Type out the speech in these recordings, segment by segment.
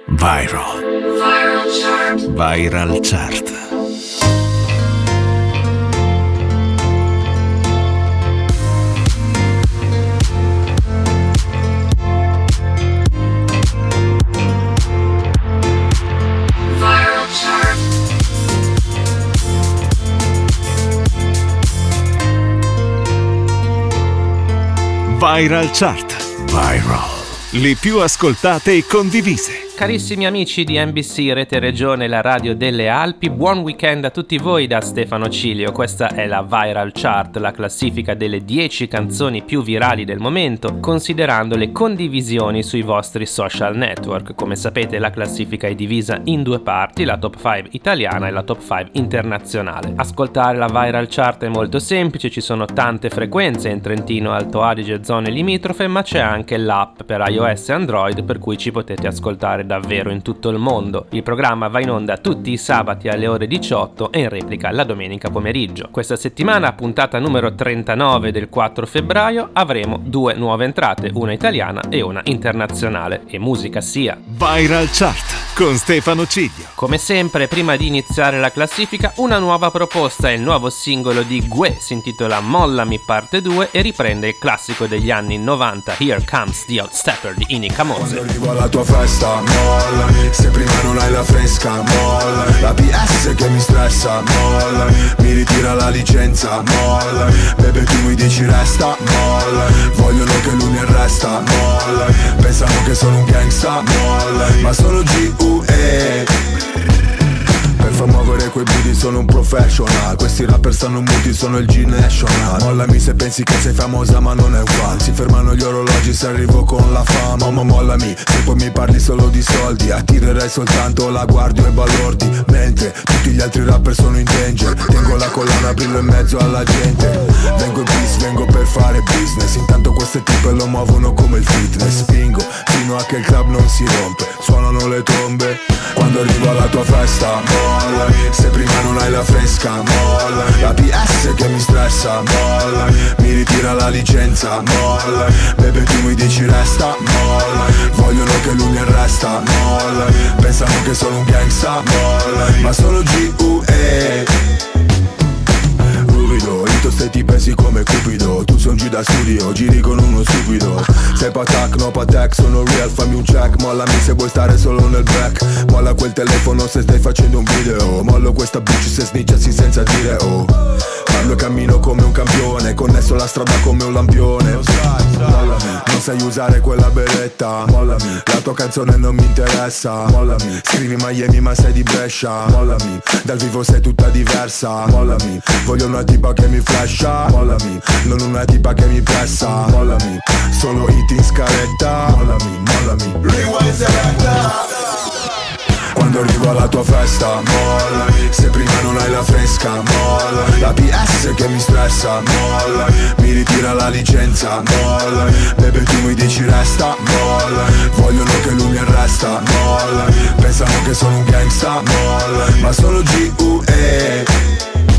Viral. Viral Chart. Viral Chart. Viral Chart. Viral. Le più ascoltate e condivise. Carissimi amici di NBC Rete Regione, la radio delle Alpi, buon weekend a tutti voi da Stefano Cilio. Questa è la Viral Chart, la classifica delle 10 canzoni più virali del momento, considerando le condivisioni sui vostri social network. Come sapete, la classifica è divisa in due parti, la top 5 italiana e la top 5 internazionale. Ascoltare la Viral Chart è molto semplice, ci sono tante frequenze in Trentino, Alto Adige e zone limitrofe, ma c'è anche l'app per iOS e Android, per cui ci potete ascoltare davvero in tutto il mondo. Il programma va in onda tutti i sabati alle ore 18 e in replica la domenica pomeriggio. Questa settimana, puntata numero 39 del 4 febbraio, avremo due nuove entrate, una italiana e una internazionale, e musica sia. Viral Chart con Stefano Ciglio. Come sempre, prima di iniziare la classifica, una nuova proposta. Il nuovo singolo di Gue si intitola Mollami parte 2 e riprende il classico degli anni 90 Here Comes the Outstepper di Inica Mose. Quando arrivo alla tua festa, mollami. Se prima non hai la fresca, mollami. La PS che mi stressa, mollami. Mi ritira la licenza, mollami. Bebe tu mi dici resta, mollami. Vogliono che lui mi arresta, mollami. Pensano che sono un gangsta, mollami. Ma sono G.U.E. Per far muovere quei booty sono un professional. Questi rapper stanno muti, sono il G-National. Mollami se pensi che sei famosa ma non è un fan. Si fermano gli orologi se arrivo con la fama. Ma mollami se poi mi parli solo di soldi. Attirerai soltanto la guardia e balordi. Mentre tutti gli altri rapper sono in danger. Tengo la collana, brillo in mezzo alla gente. Vengo in peace, vengo per fare business. Intanto queste tipe lo muovono come il fitness. Spingo fino a che il club non si rompe. Suonano le trombe quando arrivo alla tua festa, mollami. Se prima non hai la fresca, mollami. La PS che mi stressa, mollami. Mi ritira la licenza, mollami. Bebe tu mi dici resta, mollami. Vogliono che lui mi arresta, mollami. Pensano che sono un gangsta, mollami. Ma sono G.U.E. Ito stai ti pensi come Cupido. Tu sei un G da studio, giri con uno stupido. Sei patak, no patek, sono real, fammi un check. Mollami se vuoi stare solo nel back. Molla quel telefono se stai facendo un video. Mollo questa bitch se snitchassi senza dire oh. Parlo e cammino come un campione, connesso la strada come un lampione. Mollami, non sai usare quella beretta. Mollami, la tua canzone non mi interessa. Mollami, scrivi Miami ma sei di Brescia. Mollami, dal vivo sei tutta diversa. Mollami, voglio una tipa che mi flasha. Mollami, non una tipa che mi pressa. Mollami, solo hit in scaletta. Mollami, mollami, rewind selecta. Quando arrivo alla tua festa, mollami. Se prima non hai la fresca, mollami. La PS che mi stressa, mollami. Mi ritira la licenza, mollami. Bebe tu mi dici resta, mollami. Vogliono che lui mi arresta, mollami. Pensano che sono un gangsta, mollami. Ma sono G.U.E.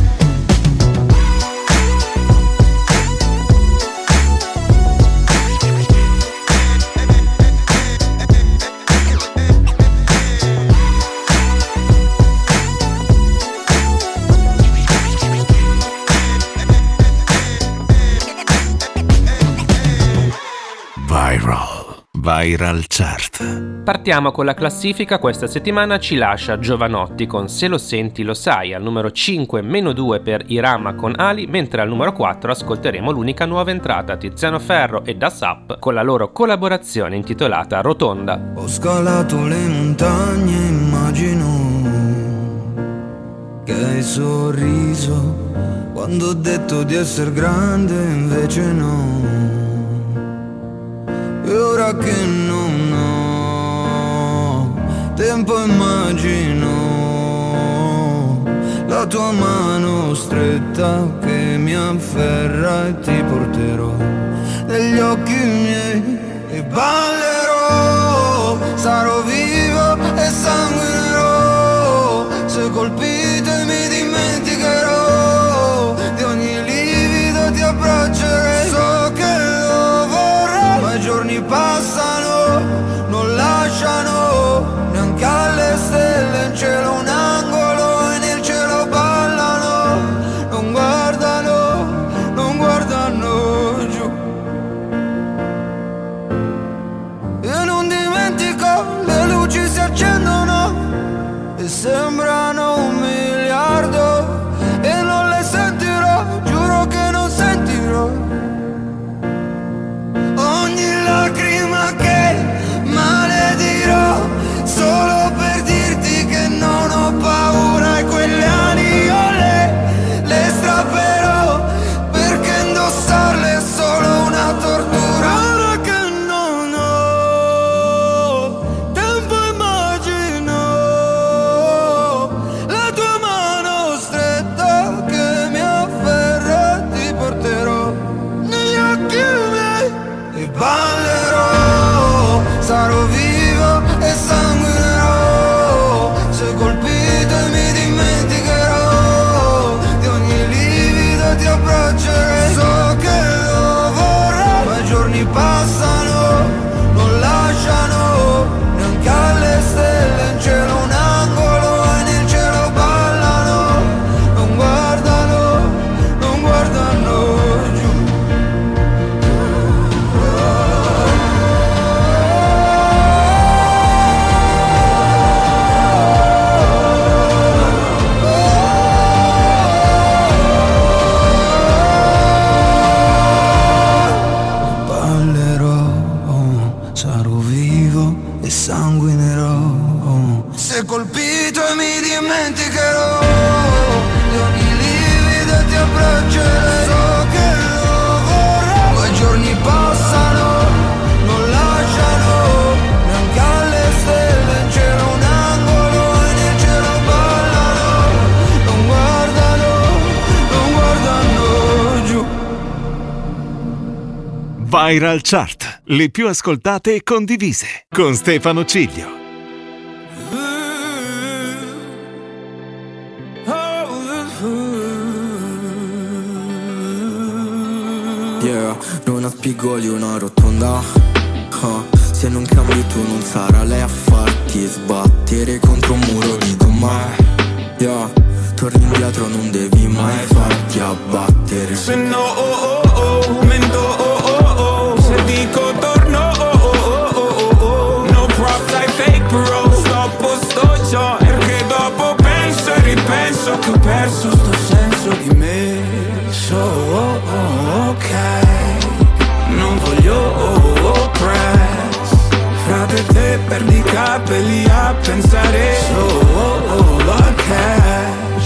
Viral Chart. Partiamo con la classifica. Questa settimana ci lascia Giovanotti con Se lo senti lo sai, al numero 5 -2 per Irama con Ali, mentre al numero 4 ascolteremo l'unica nuova entrata, Tiziano Ferro e Das Up con la loro collaborazione intitolata Rotonda. Ho scalato le montagne, immagino che hai sorriso quando ho detto di essere grande, invece no. E ora che non ho tempo immagino la tua mano stretta che mi afferra e ti porterò negli occhi miei e ballerò, sarò vivo e sanguinerò, se colpite mi dimenticherò, di ogni livido ti abbraccerei, so che lo vorrei, ma i giorni passano, non lasciano neanche però se colpito e mi dimenticherò di ogni livido e ti abbraccerei. So che lo vorrò. 2 giorni passano, non lasciano neanche alle stelle in cielo un angolo e nel cielo ballano. Non guardano giù. Viral Chart, le più ascoltate e condivise, con Stefano Ciglio. Yeah, una spigoli, una rotonda. Se non cambi tu non sarà lei a farti sbattere contro un muro di gomma. Yeah, torni indietro, non devi mai farti abbattere. Se no, mento, se dico torno, no props I fake bro. Stoppo sto già, perché dopo penso e ripenso che ho perso sto senso di me. Ok, non voglio press. Frate te perdi i capelli a pensare solo a cash.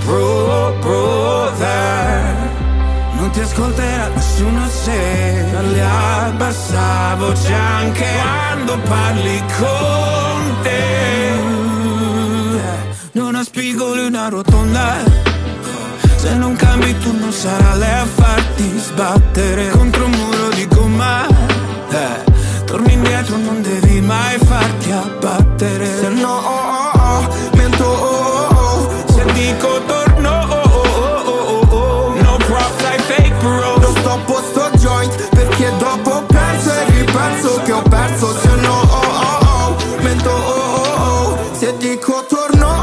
Brother, non ti ascolterà nessuno se parli a bassa voce anche quando parli con te. Non ha spigoli, una rotonda. Se non cambi tu non sarà lei a farti sbattere contro un muro di gomma. Torni indietro, non devi mai farti abbattere. Se no, mento, se dico torno, no props I fake bro. Non stoppo sto joint perché dopo penso e ripenso che ho perso. Se no, mento, se dico torno,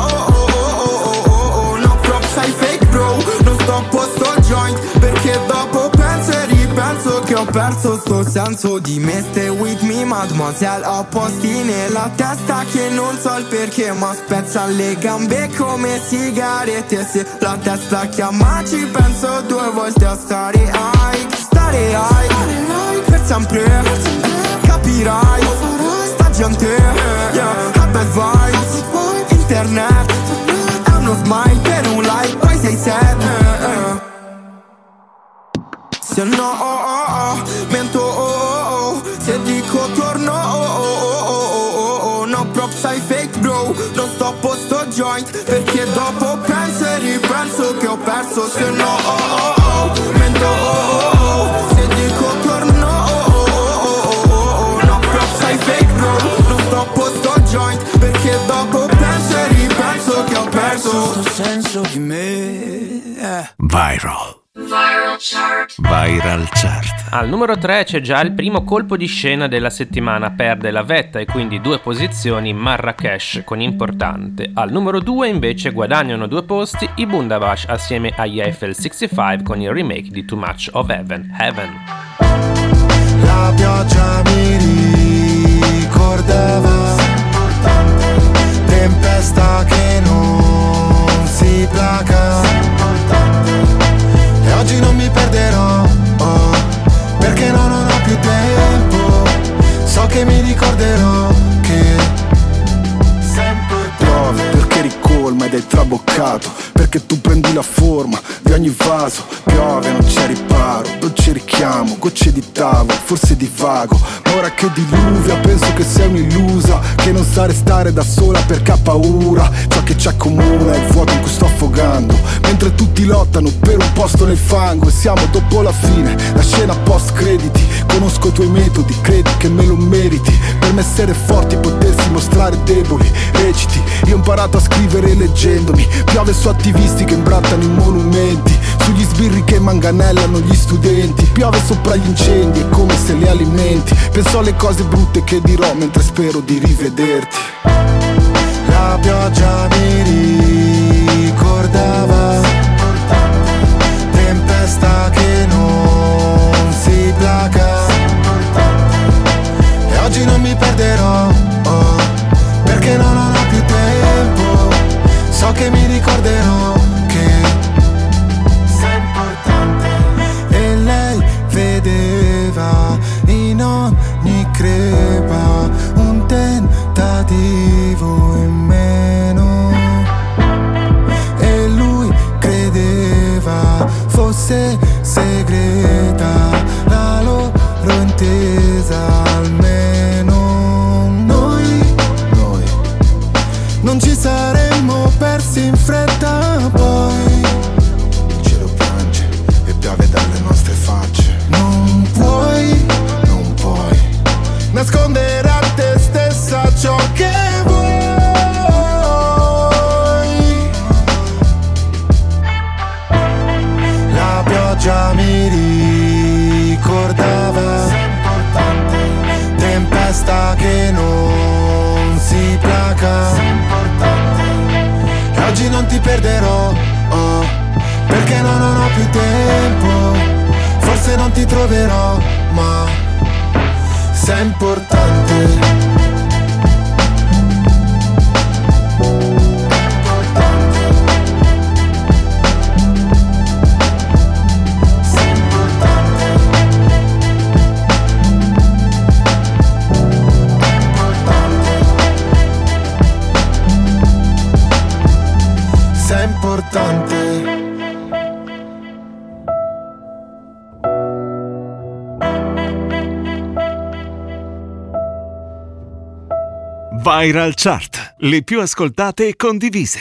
no props I fake bro. Non stoppo sto joint perché dopo penso e ripenso che ho perso sto senso di me. Stay with me mademoiselle, ho posti nella testa che non so il perché, ma spezza le gambe come sigarette. Se la testa chiama ci penso 2 volte a stare high. Stare high per sempre, capirai. Sta gente, yeah, ha bad vibes. Internet è uno smile per un like, poi sei sad. Se no, mento, se dico torno, no props I fake bro. Non stoppo sto joint perché dopo penso e ripenso che ho perso. Se no, mento, se dico torno, no props I fake bro. Non stoppo sto joint perché dopo penso e ripenso che ho perso sto senso di me. Viral Chart. Al numero 3 c'è già il primo colpo di scena della settimana, perde la vetta e quindi 2 posizioni Marrakesh con Importante. Al numero 2 invece guadagnano 2 posti i Bundabash assieme agli Eiffel 65 con il remake di Too Much of Heaven. La pioggia mi ricordava, tempesta che non si placa. E oggi non mi perderò, perché non ho più tempo. So che mi ricorderò che sempre piove perché ricolma ed è traboccato, perché tu prendi la forma di ogni vaso. Piove, non c'è riparo, dolce richiamo, gocce di tavolo, forse divago. Ma ora che diluvia penso che sei un'illusa, che non sa restare da sola perché ha paura. Ciò che ci accomuna è il vuoto in cui sto affogando, mentre tutti lottano per un posto nel fango. E siamo dopo la fine, la scena post crediti. Conosco i tuoi metodi, credi che me lo meriti. Per me essere forti, potersi mostrare deboli. Reciti, io ho imparato a scrivere leggendomi. Piove su attivisti che imbrattano i monumenti, sugli sbirri che manganellano gli studenti. Piove sopra gli incendi, è come se li alimenti. Penso alle cose brutte che dirò mentre spero di rivederti. La pioggia mi ricordava, tempesta che non si placa. E oggi non mi perderò, perché non ho più tempo. So che mi ricorderò che sei importante. E lei vedeva in ogni crepa un tentativo non ci saremmo persi in fretta poi. Il cielo piange e piove dalle nostre facce. Non puoi nascondere a te stessa ciò che vuoi. La pioggia mi ricordava tempesta che non si placa. E oggi non ti perderò, oh, perché non ho più tempo. Forse non ti troverò, ma sei importante. Viral Chart, le più ascoltate e condivise.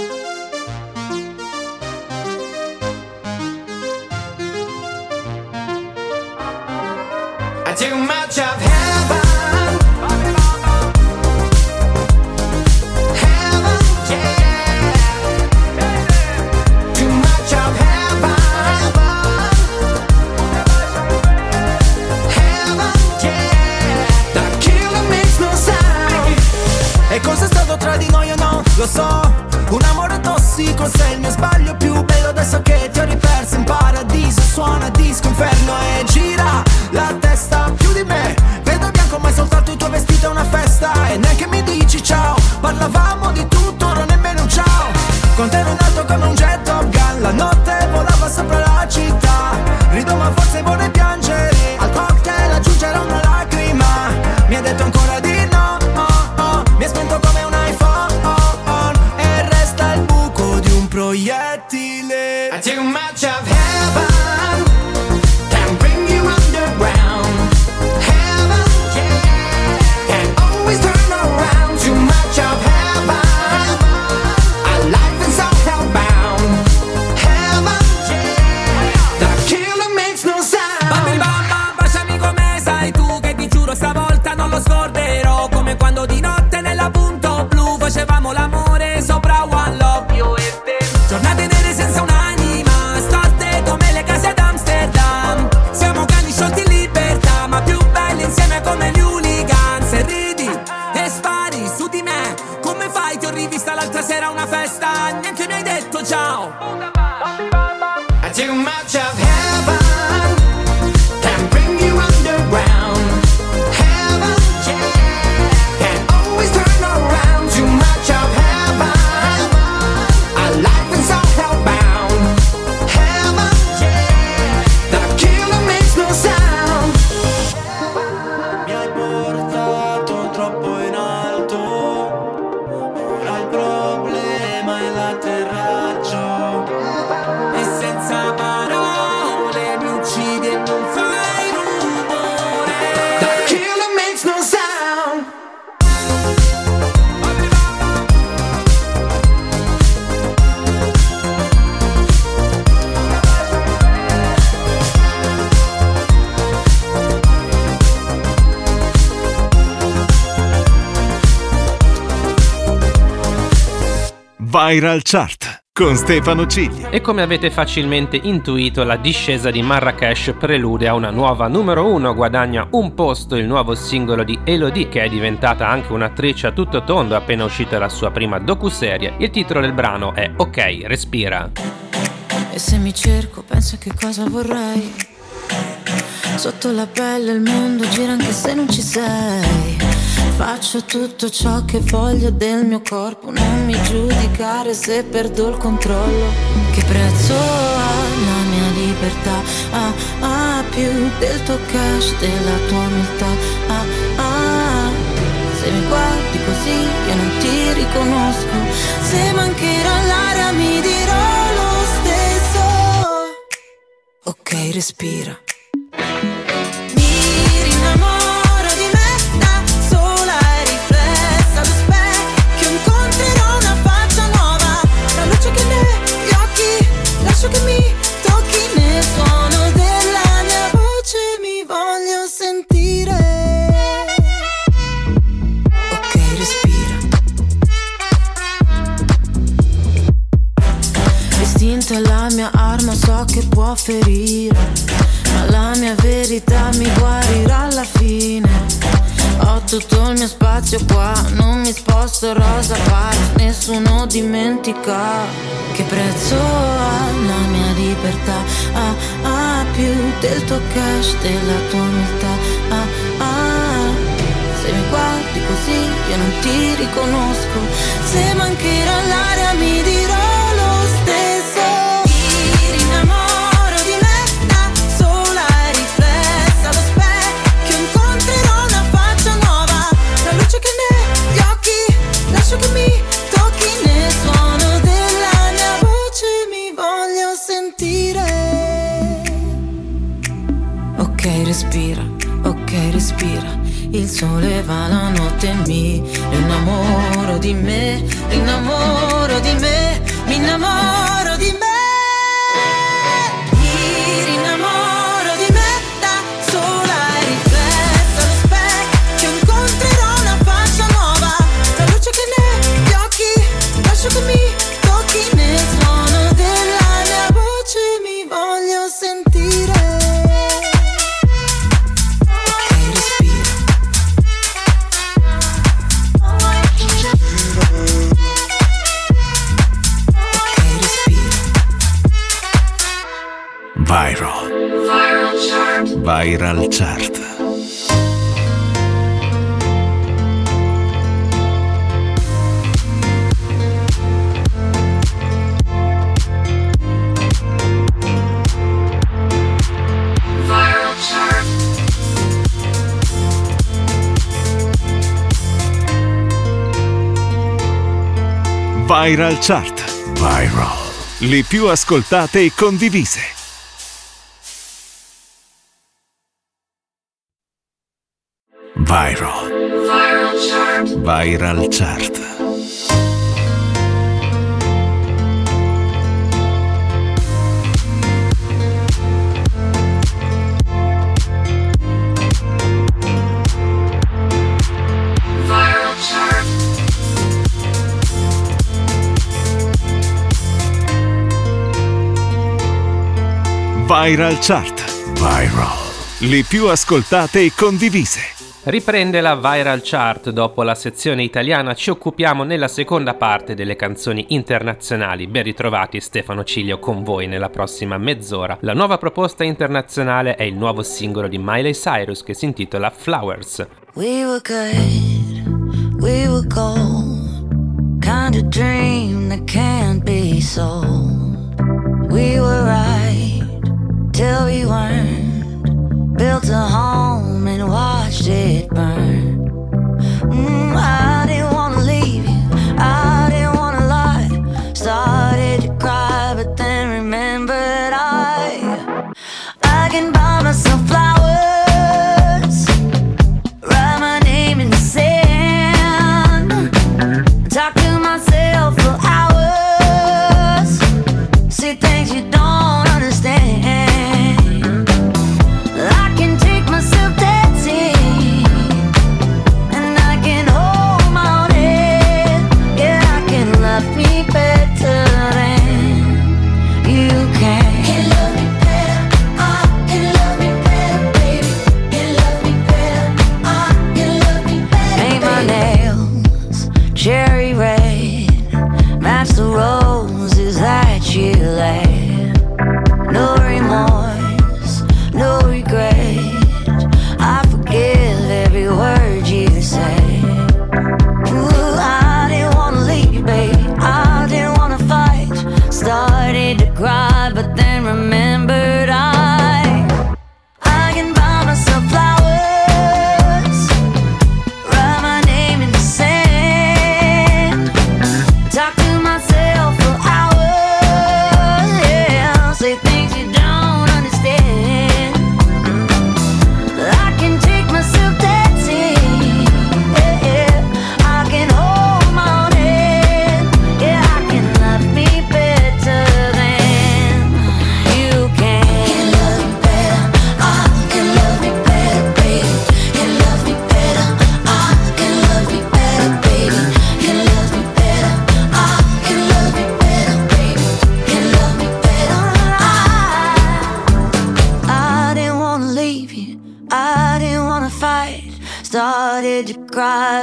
Too much of heaven, heaven, yeah. Too much of heaven, heaven, yeah. The killer makes no sound. E cosa è stato tra di noi o no? Lo so, un amore tossico, sei il mio sbaglio più bello. Adesso che ti ho riperso in paradiso, suona disco inferno e gira la testa più di me. Vedo bianco ma è soltanto il tuo vestito è una festa. E neanche mi dici ciao, parlavamo di tutto, non nemmeno un ciao. Con te ero in alto come un jet Top Gun, la notte volava sopra la città. Rido ma forse vorrei piangere, al cocktail aggiungerò una lacrima. Mi ha detto ancora di no, oh, oh. Mi è spento come un iPhone, oh, oh. E resta il buco di un proiettile. Too much of heaven can bring you underground. Heaven, yeah, can always turn around. Too much of heaven, our life is all hellbound. Heaven, yeah, the killer makes no sound. Bambi bamba, baciami come sai tu, che ti giuro stavolta non lo scorderò. Come quando di notte nella punto blu facevamo l'amore sopra One Love, io e te. Giornate nere senza un'anima, storte come le case ad Amsterdam. Siamo cani sciolti in libertà, ma più belli insieme come gli hooligans. E ridi e spari su di me, come fai? Ti ho rivista l'altra sera a una festa, neanche mi hai detto ciao. Too much of heaven can bring you underground. Heaven, yeah, can always turn around. Too much of heaven, our life is all hellbound. Heaven, yeah, the killer makes no sound. Mi hai portato troppo in alto, ora il problema è l'atterraggio. E senza parole mi uccidi e non fai rumore. The killer makes no sound. Viral Chart con Stefano Ciglia. E come avete facilmente intuito, la discesa di Marrakesh prelude a una nuova numero 1. Guadagna un posto il nuovo singolo di Elodie, che è diventata anche un'attrice a tutto tondo appena uscita la sua prima docuserie. Il titolo del brano è Ok, respira. E se mi cerco penso a che cosa vorrei. Sotto la pelle il mondo gira anche se non ci sei. Faccio tutto ciò che voglio del mio corpo. Non mi giudicare se perdo il controllo. Che prezzo ha la mia libertà? Più del tuo cash, della tua umiltà. Se mi guardi così io non ti riconosco. Se mancherò l'aria mi dirò lo stesso. Ok, respira. Mi rinnamoro di me da sola e riflessa allo specchio. Incontri mente è la mia arma, so che può ferire, ma la mia verità mi guarirà alla fine. Ho tutto il mio spazio qua, non mi sposto rosa park, nessuno dimentica che prezzo ha la mia libertà. Più del tuo cash, della tua umiltà. Se mi guardi così io non ti riconosco, se mancherà l'aria mi dirò lo stesso. Mi rinnamoro di me da sola e riflessa allo specchio, incontrerò una faccia nuova, la luce che negli occhi, lascio che mi tocchi, nel suono della mia voce mi voglio sentire. Ok, respira, il sole va, la notte mi innamoro di me, innamoro di me, mi innamoro di me. Mi rinnamoro di me da sola e riflessa allo specchio, incontrerò una faccia nuova, la luce che negli occhi, lascio che mi tocchi, nel suono della mia voce mi voglio sentire. Viral Chart. Viral Chart. Viral. Le più ascoltate e condivise. Viral. Viral Chart. Viral Chart. Viral. Le più ascoltate e condivise. Riprende la Viral Chart. Dopo la sezione italiana ci occupiamo nella seconda parte delle canzoni internazionali. Ben ritrovati, Stefano Cilio con voi nella prossima mezz'ora. La nuova proposta internazionale è il nuovo singolo di Miley Cyrus che si intitola Flowers. We were good, we were gold, kind of dream that can't be sold. We were right till we weren't, built a home and watched it burn. I didn't wanna leave you, I didn't wanna lie. Started to cry but then remembered I can buy myself flowers, write my name in the sand, talk to myself for hours, see things you don't understand. I can take myself dancing, and I can hold my own head. Yeah, I can love me better than you can. Can love me better, I can love me better, baby. Can love me better, I can love me better. Paint my nails cherry red, match the roses that you laid. No remorse, no regret, I forgive every word you say. Ooh, I didn't wanna leave you, baby, I didn't wanna fight. Started to cry, but then remembered I can buy myself flowers, write my name in the sand, talk to myself for hours.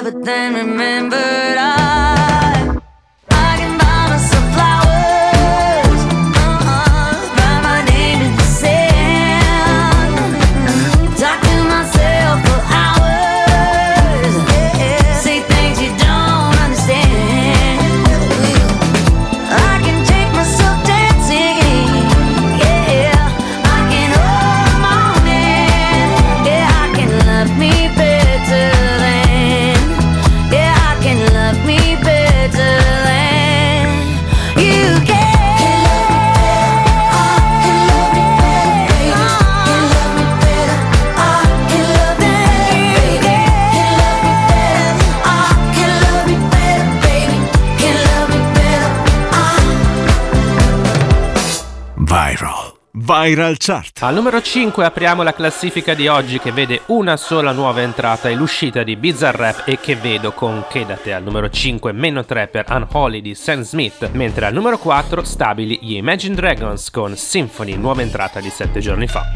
but then remembered I can buy myself flowers, write my name in the sand, talk to myself for hours, say things you don't understand. I can take myself dancing, yeah, I can hold the morning, yeah, I can love me better than, yeah, I can love me better than you can. Viral Chart. Al numero 5 apriamo la classifica di oggi, che vede una sola nuova entrata e l'uscita di Bizarrap e Che Vedo con Chedate. Al numero 5 meno 3 per Unholy di Sam Smith, mentre al numero 4 stabili gli Imagine Dragons con Symphony, nuova entrata di 7 giorni fa.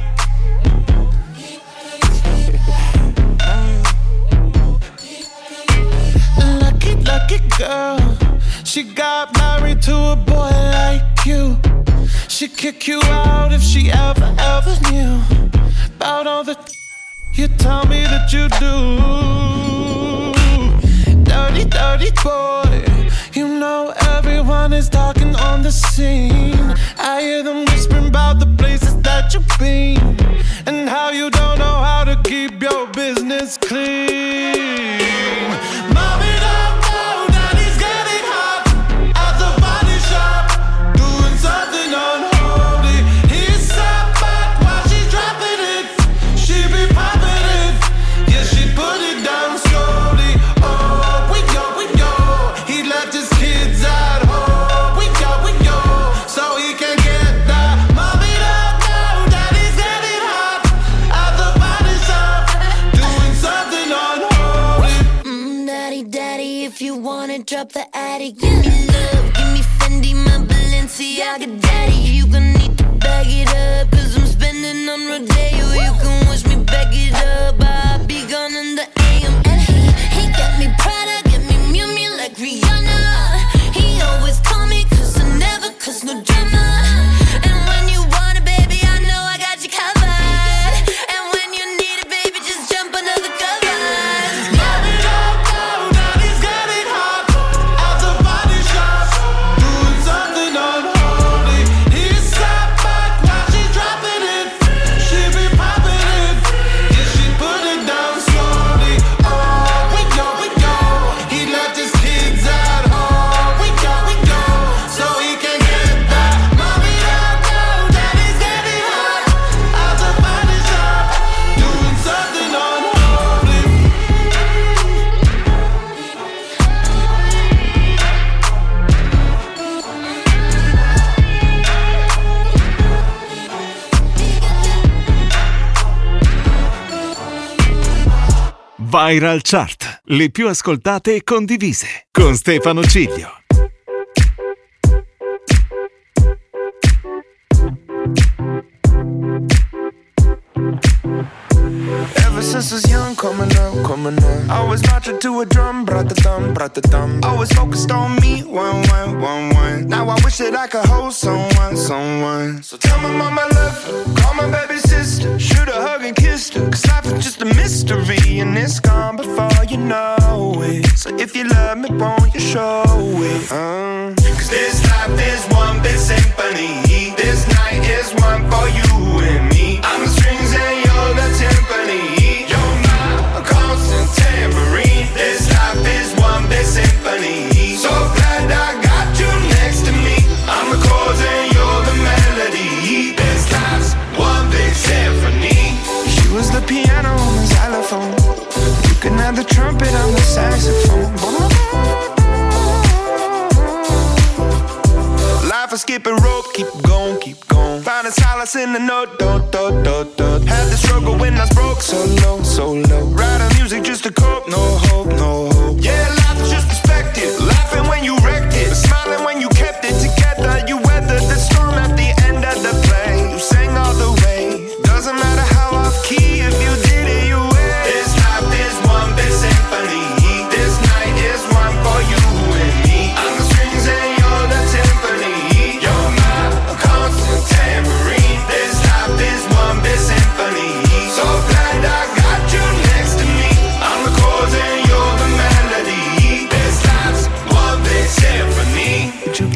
Lucky, lucky girl, she got married to a boy like you. She'd kick you out if she ever knew about all the you tell me that you do. Dirty, dirty boy, you know everyone is talking on the scene. I hear them whispering about the places that you've been and how you don't know how to keep your business clean. Mommy, don't know daddy's getting hot at the body shop, doing something unholy. He's sat back while she's dropping it. She be popping it, yeah, she put it down slowly. Oh, we go, he left his kids at home. We go, so he can get that. Mommy don't know daddy's getting hot at the body shop, doing something unholy. Daddy, if you wanna drop the attic, give me love, give me Fendi, my Balenciaga. Daddy, you gon' need to bag it up, 'cause I'm spending on Rodeo. You can wish me back it up, I'll be gone in the AM. And he got me Prada, got me Miu Miu like Rihanna. He always call me 'cause I never cause no drama. And when you want it, baby, I know I got you covered. And when you need it, baby, just jump under the covers. Mommy don't know daddy's getting hot at the body shop, doing something unholy. He sat back while she's dropping it. She be popping it, yeah, she put it down slowly. Oh, we go, he left his kids at home. We go, so he can get that. Mommy don't know daddy's getting hot at the body shop, doing something unholy. Viral Chart, le più ascoltate e condivise, con Stefano Ciglio. Ever since I was young, coming up. Always marching to a drum, brat-a-thumb. Always focused on me, one. Now I wish that I could hold someone. So tell my mama I love her, call my baby sister, shoot a hug and kiss her, 'cause life is just a mystery and it's gone before you know it. So if you love me, won't you show it? 'Cause this life is one big symphony. This night is one for you and me. I'm the strings and you're the timpani. You're my constant tambourine. This life is one big symphony. So glad I got you next to me. I'm the chords and you're the melody. This life's one big symphony. She was the piano on the xylophone. You can have the trumpet on the saxophone. Life is skipping rope, keep going. Finding solace in the note, do. Had the struggle when I was broke, so low. Writing music just to cope, no hope. Yeah, life is just perspective. Laughing when you wrecked it, smiling when you kept it together. You weathered the storm at the end of the play. You sang all the way. Doesn't matter how off key, if you did it, you win. This life is one big symphony. This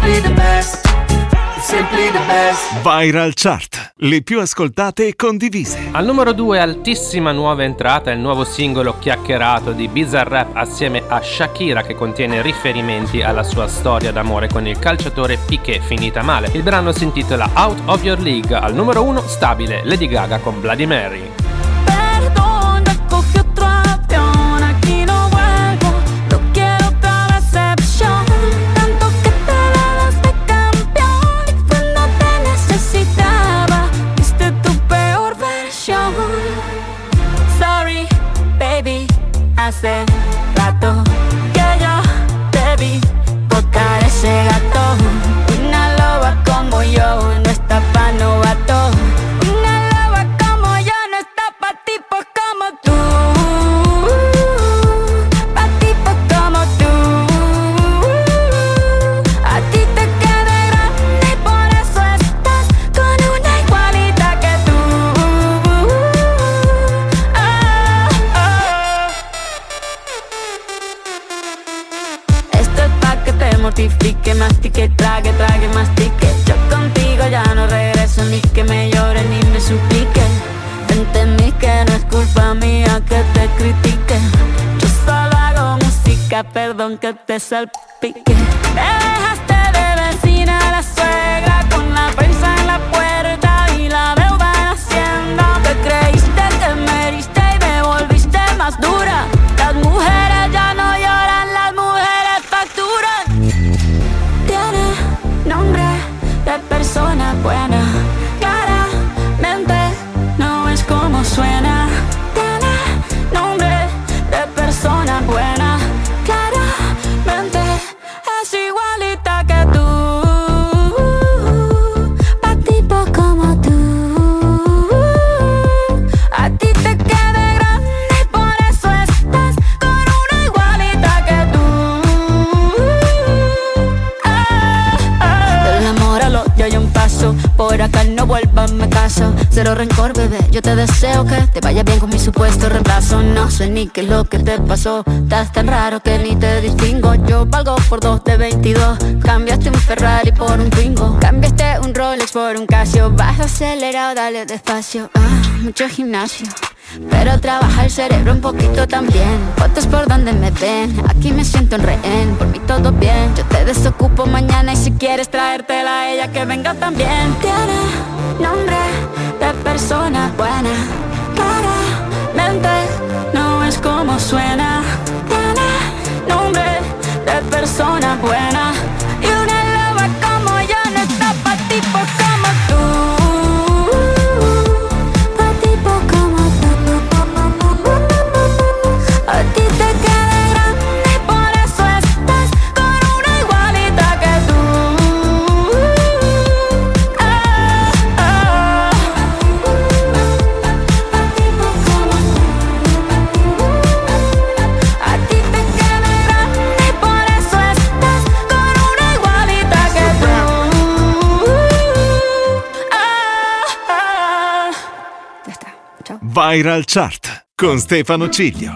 simply the best. Simply the best. Viral Chart, le più ascoltate e condivise. Al numero 2, altissima nuova entrata, il nuovo singolo chiacchierato di Bizarrap assieme a Shakira, che contiene riferimenti alla sua storia d'amore con il calciatore Piqué finita male. Il brano si intitola Out of Your League. Al numero 1, stabile, Lady Gaga con Bloody Mary. Hace rato que yo te vi botar ese gato. Una loba como yo no está pa' novato. Una loba como yo no está pa' tipos como tú. Pa' tipos como tú. A ti te queda grande y por eso estás con una igualita que tú. Mortifique, mastique, trague, trague, mastique. Yo contigo ya no regreso, ni que me llore ni me suplique. Entendí que no es culpa mía que te critique. Yo solo hago música, perdón que te salpique. Te dejaste de vecina a la suegra con la prensa en la puerta y la deuda en Hacienda. Te creíste que me heriste y me volviste más dura. Las mujeres ya no lloran, las mujeres facturan. Nombre de persona buena, claramente no es como suena. Tiene nombre de persona buena, claramente es igualita que tú. Pa' tipo como tú. A ti te queda grande y por eso estás con una igualita que tú. Yo hay un paso, por acá no vuelvas, me caso. Cero rencor, bebé, yo te deseo que te vaya bien con mi supuesto reemplazo. No sé ni qué es lo que te pasó, estás tan raro que ni te distingo. Yo valgo por 2 de 22, cambiaste un Ferrari por un Twingo. Cambiaste un Rolex por un Casio, vas acelerado, dale despacio. Mucho gimnasio, pero trabaja el cerebro un poquito también. Fotos por donde me ven, aquí me siento en rehén. Por mí todo bien, yo te desocupo mañana. Y si quieres traértela a ella, que venga también. Tiene nombre de persona buena, claramente no es como suena. Tiene nombre de persona buena. Y una loba como yo no está pa' tipos como tú. A ti te queda grande y por eso estás con una igualita que tú. A ti te queda grande y por eso estás con una igualita que tú. Ya está, chao. Viral Chart con Stefano Ciglio.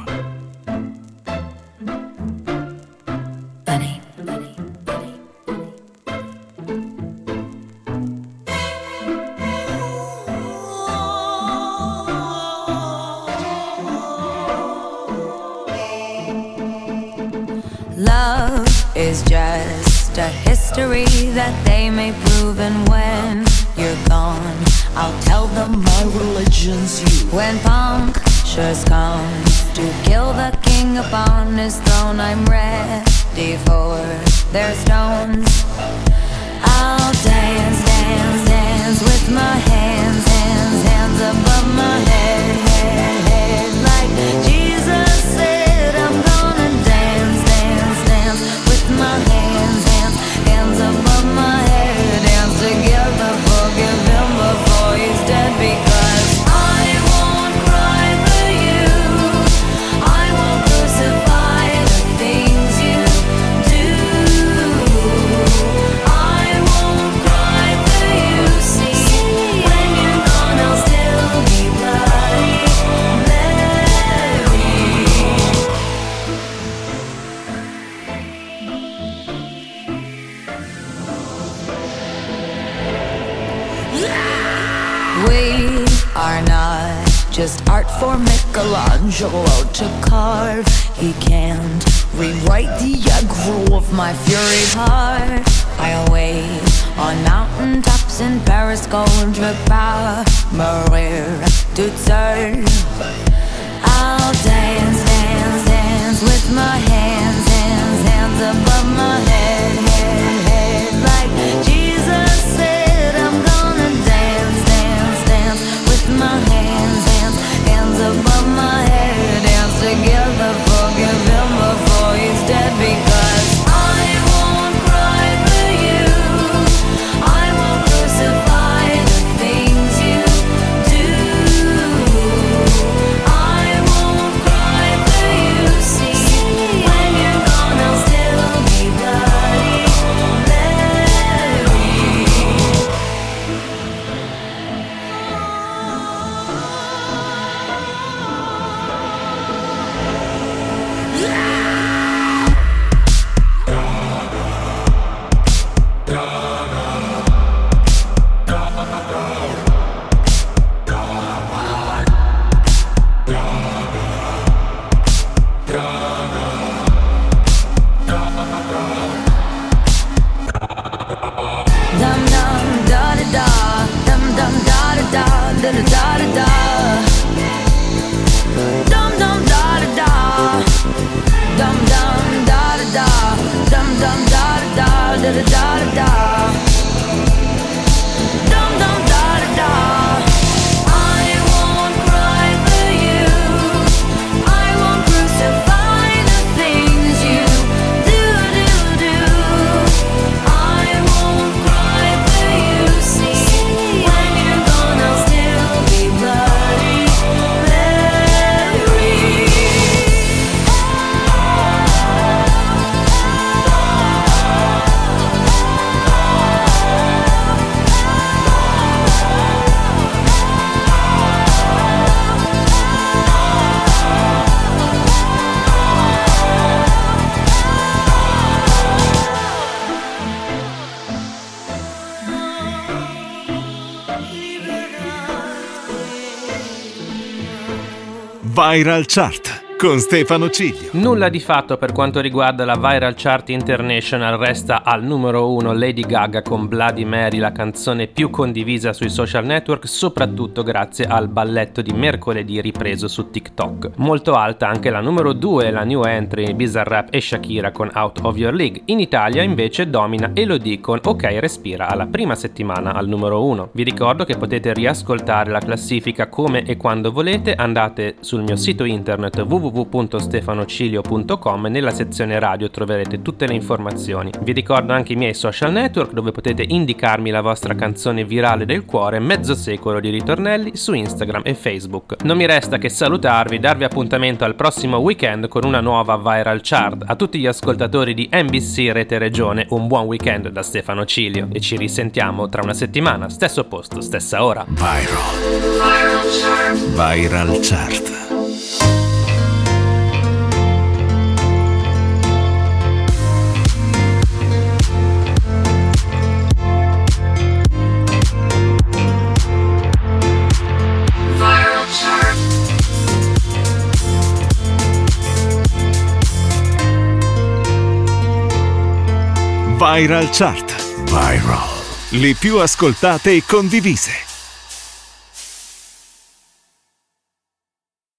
Love is just a history that they may prove, and when you're gone, I'll tell them my religion's you. When punctures come to kill the king upon his throne, I'm ready for their stones. I'll dance, dance, dance with my hands, hands, hands above my head, head, head. Like Jesus said, I'm gonna dance, dance, dance with my hands, hands, hands above my head. Dance together, forgive him before he's dead, because I won't cry for you, I won't crucify the things you do. I won't cry for you, see, when you're gone I'll still be bloody. are not just art for Michelangelo to carve. He can't rewrite the aggro of my fury heart. I wait on mountaintops in Paris, contre pas mourir toute seule. I'll dance, dance, dance with my hands, hands, hands above my head, head, head. Like Jesus said, I'm gonna dance, dance, dance with my hands, hands, hands above my head. Dance together, forgive him before he's dead, because I won't cry for you. I won't crucify the things you do. I won't cry for you. See, when you're gone, I'll still be bloody Mary. Dum dum da da da, dum dum da da da, da da da da. Dum dum da da da, dum dum da da da, dum dum da da da, da da da. Dum dum da da da. I won't cry for you. I won't crucify the things you do. I won't cry for you. See, when you're gone, I'll still be bloody Mary. Viral Chart con Stefano Ciglio. Nulla di fatto per quanto riguarda la Viral Chart International, resta al numero 1 Lady Gaga con Bloody Mary, la canzone più condivisa sui social network, soprattutto grazie al balletto di mercoledì ripreso su TikTok. Molto alta anche la numero 2, la new entry Bizarrap e Shakira con Out of Your League. In Italia invece domina Elodie con Ok Respira alla prima settimana al numero 1. Vi ricordo che potete riascoltare la classifica come e quando volete, andate sul mio sito internet www.stefanocilio.com e nella sezione radio troverete tutte le informazioni. Vi ricordo anche i miei social network dove potete indicarmi la vostra canzone virale del cuore, mezzo secolo di ritornelli su Instagram e Facebook. Non mi resta che salutarvi, darvi appuntamento al prossimo weekend con una nuova Viral Chart. A tutti gli ascoltatori di NBC Rete Regione un buon weekend da Stefano Cilio e ci risentiamo tra una settimana, stesso posto, stessa ora. Viral Chart. Viral Chart. Viral. Le più ascoltate e condivise.